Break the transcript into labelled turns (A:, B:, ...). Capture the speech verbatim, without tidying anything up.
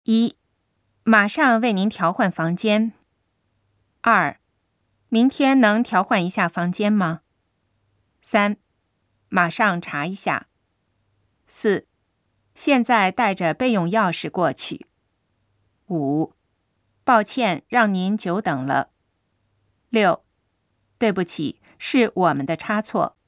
A: 一、马上为您调换房间。二、明天能调换一下房间吗？三、马上查一下。四、现在带着备用钥匙过去。五、抱歉让您久等了。六、对不起，是我们的差错。